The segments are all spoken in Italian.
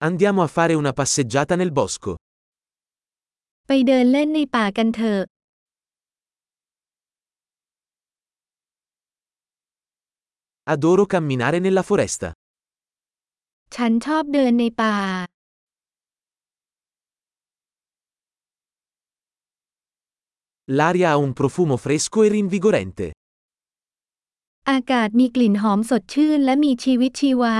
Andiamo a fare una passeggiata nel bosco. ไปเดินเล่นในป่ากันเถอะ Adoro camminare nella foresta. ฉันชอบเดินในป่า L'aria ha un profumo fresco e rinvigorente. อากาศมีกลิ่นหอมสดชื่นและมีชีวิตชีวา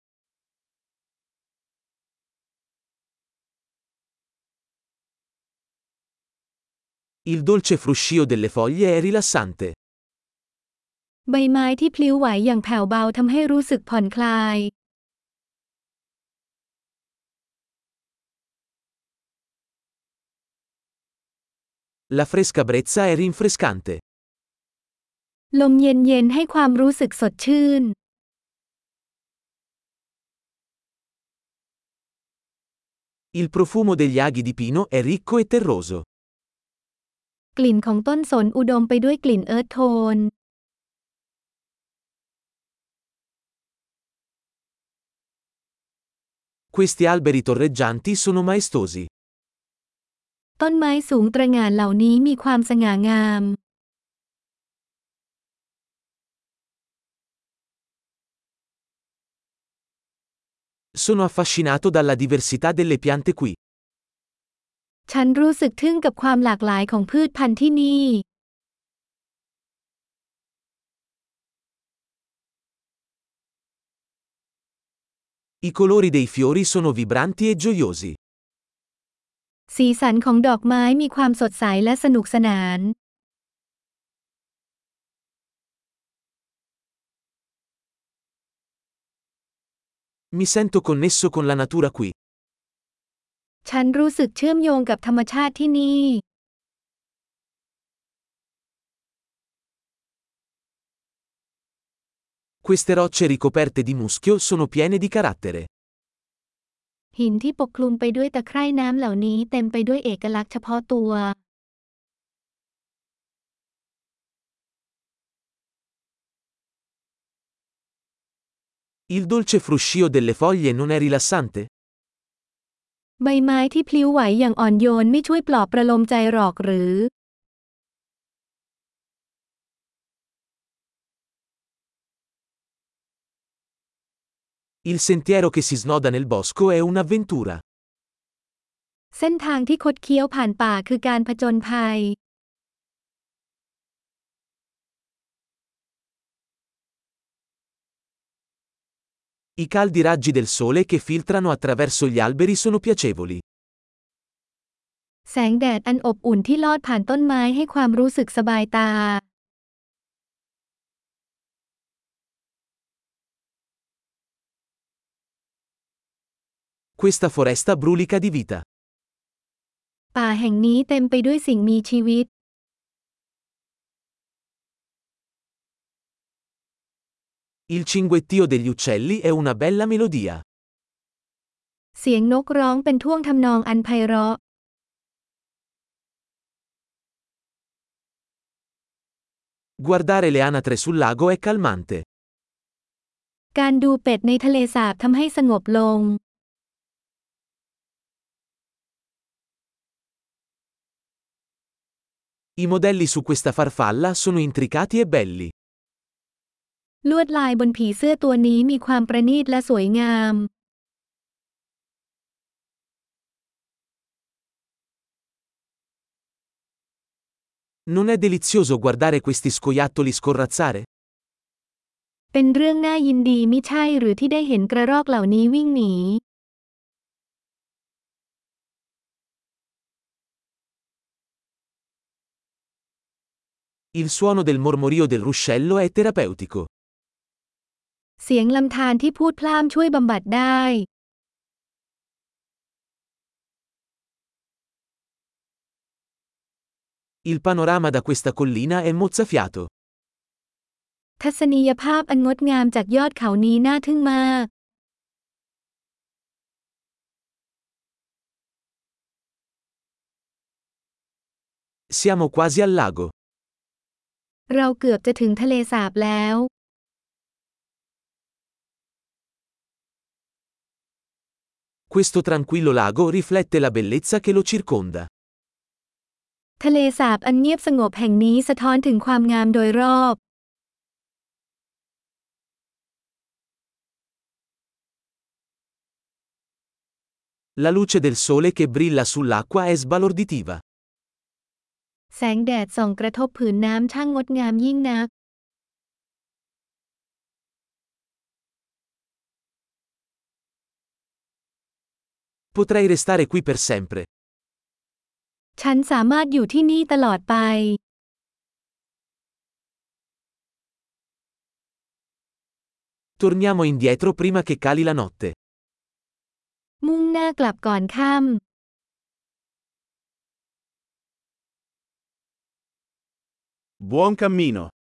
Il dolce fruscio delle foglie è rilassante. ใบไม้ที่พลิ้วไหวอย่างแผ่วเบาทำให้รู้สึกผ่อนคลาย La fresca brezza è rinfrescante. ลมเย็นๆให้ความรู้สึกสดชื่น Il profumo degli aghi di pino è ricco e terroso. กลิ่นของต้นสนอุดมไปด้วยกลิ่นเอิร์ธโทน Questi alberi torreggianti sono maestosi. ต้นไม้สูงตระหง่านเหล่านี้มีความสง่างาม Sono affascinato dalla diversità delle piante qui. ฉันรู้สึกทึ่งกับความหลากหลายของพืชพันธุ์ที่นี่ I colori dei fiori sono vibranti e gioiosi. สีสันของดอกไม้มีความสดใสและสนุกสนาน Mi sento connesso con la natura qui. ฉันรู้สึกเชื่อมโยงกับธรรมชาติที่นี่ Queste rocce ricoperte di muschio sono piene di carattere. หินที่ปกคลุมไปด้วยตะไคร่น้ำเหล่านี้เต็มไปด้วยเอกลักษณ์เฉพาะตัว Il dolce fruscio delle foglie non è rilassante? ใบไม้ที่พลิ้วไหวอย่างอ่อนโยนไม่ช่วยปลอบประโลมใจหรอกหรือ Il sentiero che si snoda nel bosco è un'avventura. เส้นทางที่คดเคี้ยวผ่านป่าคือการผจญภัย I caldi raggi del sole che filtrano attraverso gli alberi sono piacevoli. แสงแดดอันอบอุ่นที่ลอดผ่านต้นไม้ให้ความรู้สึกสบายตา Questa foresta brulica di vita. ป่าแห่งนี้เต็มไปด้วยสิ่งมีชีวิต Il cinguettio degli uccelli è una bella melodia. เสียงนกร้องเป็นท่วงทำนองอันไพเราะ Guardare le anatre sul lago è calmante. การดูเป็ดในทะเลสาบทำให้สงบลง I modelli su questa farfalla sono intricati e belli. ลวดลายบนผีเสื้อตัวนี้มีความประณีตและสวยงาม Non è delizioso guardare questi scoiattoli scorrazzare? เป็นเรื่องน่ายินดีมิใช่หรือที่ได้เห็นกระรอกเหล่านี้วิ่งหนี Il suono del mormorio del ruscello è terapeutico. เสียงลำธารที่พูดพล่ามช่วยบำบัดได้ Il panorama da questa collina è mozzafiato. ทัศนียภาพอันงดงามจากยอดเขานี้น่าทึ่งมาก Siamo quasi al lago. เราเกือบจะถึงทะเลสาบแล้ว Questo tranquillo lago riflette la bellezza che lo circonda. ทะเลสาบอันเงียบสงบแห่งนี้สะท้อนถึงความงามโดยรอบ La luce del sole che brilla sull'acqua è sbalorditiva. แสงแดดส่องกระทบผืนน้ำช่างงดงามยิ่งนัก Potrei restare qui per sempre. ฉันสามารถอยู่ที่นี่ตลอดไป Torniamo indietro prima che cali la notte. มุ่งหน้ากลับก่อนค่ำ Buon cammino!